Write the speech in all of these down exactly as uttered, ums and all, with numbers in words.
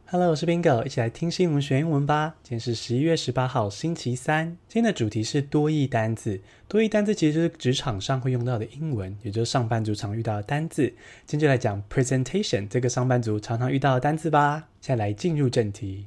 Hello， 我是 Bingo， 一起來聽新聞學英文吧。今天是十一月十八號，星期三。今天的主題是多益單字。多益單字其實就是職場上會用到的英文，也就是上班族常遇到的單字。今天就來講 presentation 這個上班族常常遇到的單字吧。現在來進入正題。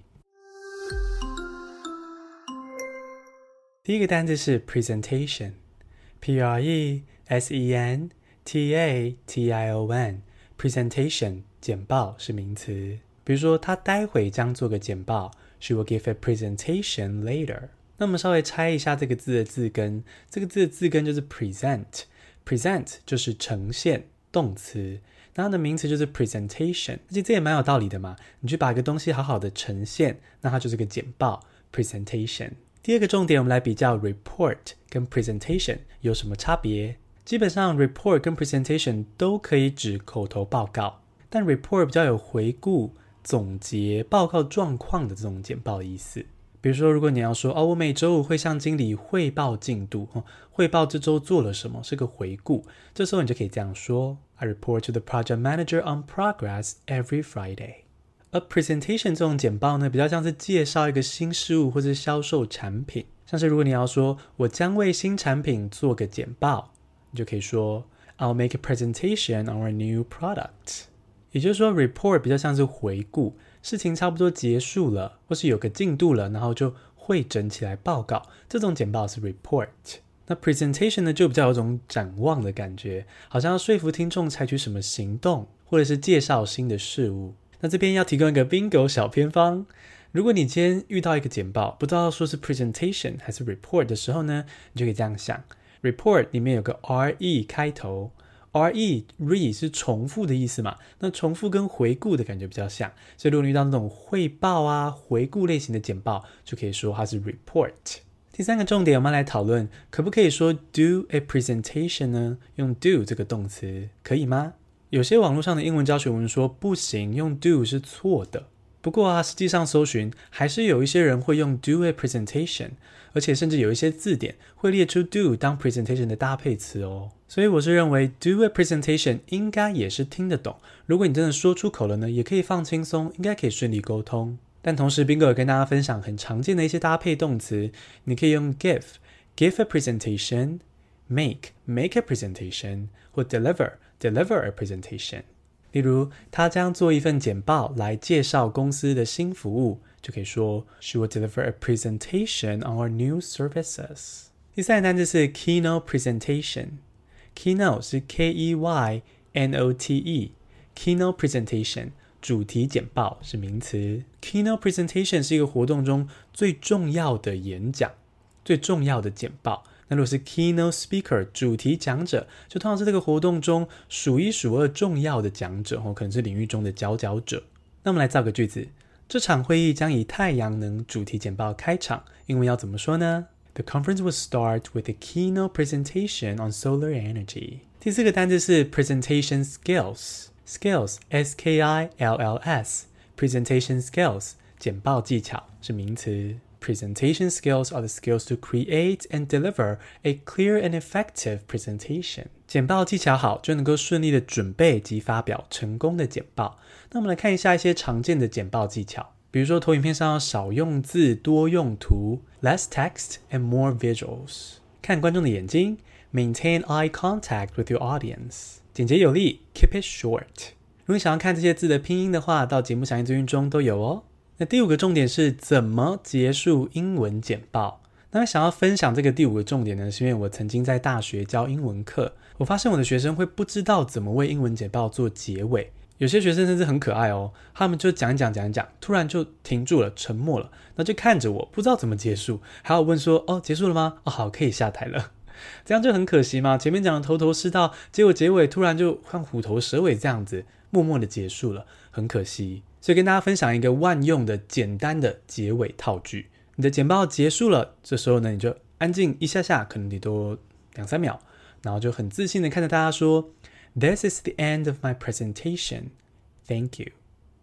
第一個單字是 presentation，P R E S E N T A T I O N。presentation 簡報是名詞。比如說他待會將做個簡報 She will give a presentation later。 那我們稍微拆一下這個字的字根，這個字的字根就是 present， present 就是呈現動詞，那它的名詞就是 presentation。 而且這也蠻有道理的嘛，你去把一個東西好好的呈現，那它就是個簡報 presentation。 第二個重點，我們來比較 report 跟 presentation 有什麼差別。基本上 report 跟 presentation 都可以指口頭報告，但 report 比較有回顧總結報告狀況的這種簡報的意思。比如說如果你要說哦，我每周五會向經理匯報進度，哦，匯報這周做了什麼，是個回顧，這時候你就可以這樣說 I report to the project manager on progress every Friday。 而 presentation 這種簡報呢，比較像是介紹一個新事物或是銷售產品，像是如果你要說我將為新產品做個簡報，你就可以說 I'll make a presentation on our new product。也就是說 report 比較像是回顧，事情差不多結束了或是有個進度了，然後就彙整起來報告，這種簡報是 report。 那 presentation 呢，就比較有種展望的感覺，好像要說服聽眾採取什麼行動，或者是介紹新的事物。那這邊要提供一個 bingo 小偏方，如果你今天遇到一個簡報不知道說是 presentation 還是 report 的時候呢，你就可以這樣想， report 裡面有個 R E 開頭，re re 是重複的意思嘛，那重複跟回顧的感覺比較像，所以如果你遇到那種匯報啊回顧類型的簡報，就可以說它是 report。 第三個重點，我們來討論可不可以說 do a presentation 呢？用 do 這個動詞可以嗎？有些網絡上的英文教學文說不行，用 do 是錯的。不過啊，實際上搜尋還是有一些人會用 do a presentation， 而且甚至有一些字典會列出 do 當 presentation 的搭配詞哦。所以我是認為 do a presentation 應該也是聽得懂，如果你真的說出口了呢，也可以放輕鬆，應該可以順利溝通。但同時 Bingo 也跟大家分享很常見的一些搭配動詞，你可以用 give give a presentation， make make a presentation， 或 deliver deliver a presentation。例如他將做一份簡報來介紹公司的新服務，就可以說 She will deliver a presentation on our new services。 第三個單字是 keynote presentation。 Keynote 是 K E Y N O T E， Keynote presentation 主題簡報是名詞。 Keynote presentation 是一個活動中最重要的演講，最重要的簡報。那如果是 keynote speaker 主題講者，就通常是這個活動中數一數二重要的講者，可能是領域中的佼佼者。那我們來造個句子，這場會議將以太陽能主題簡報開場，英文要怎麼說呢？ The conference will start with a keynote presentation on solar energy。 第四個單字是 presentation skills。 Skills S K I L L S Presentation skills 簡報技巧是名詞。Presentation skills are the skills to create and deliver a clear and effective presentation。 簡報技巧好，就能夠順利的準備及發表成功的簡報。那我們來看一下一些常見的簡報技巧，比如說投影片上要少用字多用圖 Less text and more visuals。 看觀眾的眼睛 Maintain eye contact with your audience。 簡潔有力 Keep it short。 如果想要看這些字的拼音的話，到節目詳細資訊中都有哦。那第五個重點是怎麼結束英文簡報。那想要分享這個第五個重點呢，是因為我曾經在大學教英文課，我發現我的學生會不知道怎麼為英文簡報做結尾。有些學生甚至很可愛哦，他們就講一講講一講，突然就停住了，沉默了，那就看着我，不知道怎麼結束，還要問說哦，結束了嗎？哦，好，可以下台了。這樣就很可惜嘛，前面講的頭頭是道，結果結尾突然就像虎頭蛇尾這樣子，默默的結束了，很可惜。所以跟大家分享一個萬用的簡單的結尾套句。你的簡報結束了，這時候呢，你就安靜一下下，可能你多兩三秒，然後就很自信的看着大家說 This is the end of my presentation. Thank you.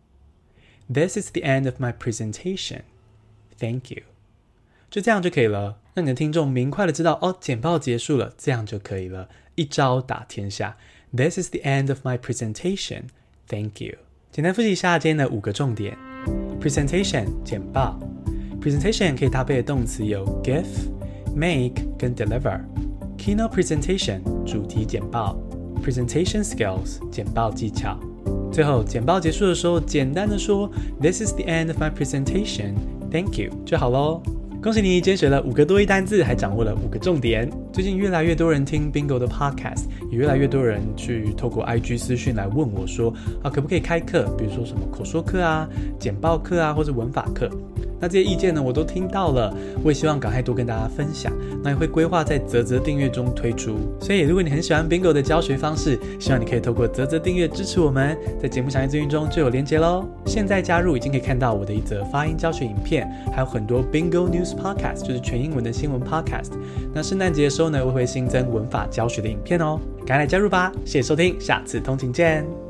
This is the end of my presentation. Thank you. 就這樣就可以了，讓你的聽眾明快的知道哦，簡報結束了，這樣就可以了，一招打天下。This is the end of my presentation. Thank you. 簡單複習一下今天的五個重點。 Presentation 簡報 Presentation 可以搭配的動詞有 give、make 跟 deliver。Keynote Presentation 主題簡報 Presentation Skills 簡報技巧。最後簡報結束的時候，簡單的說 This is the end of my presentation. Thank you 就好咯。恭喜你今天學了五個多益單字，還掌握了五個重點。最近越來越多人聽 Bingo 的 podcast， 也越來越多人去透過 I G 私訊來問我說啊，可不可以開課，比如說什麼口說課啊、簡報課啊，或者文法課。那這些意見呢，我都聽到了，我也希望趕快多跟大家分享。那也會規劃在嘖嘖訂閱中推出。所以如果你很喜歡 Bingo 的教學方式，希望你可以透過嘖嘖訂閱支持我們，在節目詳細資訊中就有連結咯。現在加入已經可以看到我的一則發音教學影片，還有很多 Bingo News Podcast， 就是全英文的新聞 Podcast。那聖誕節的時候呢，我會新增文法教學的影片哦，趕快來加入吧！謝謝收聽，下次通勤見。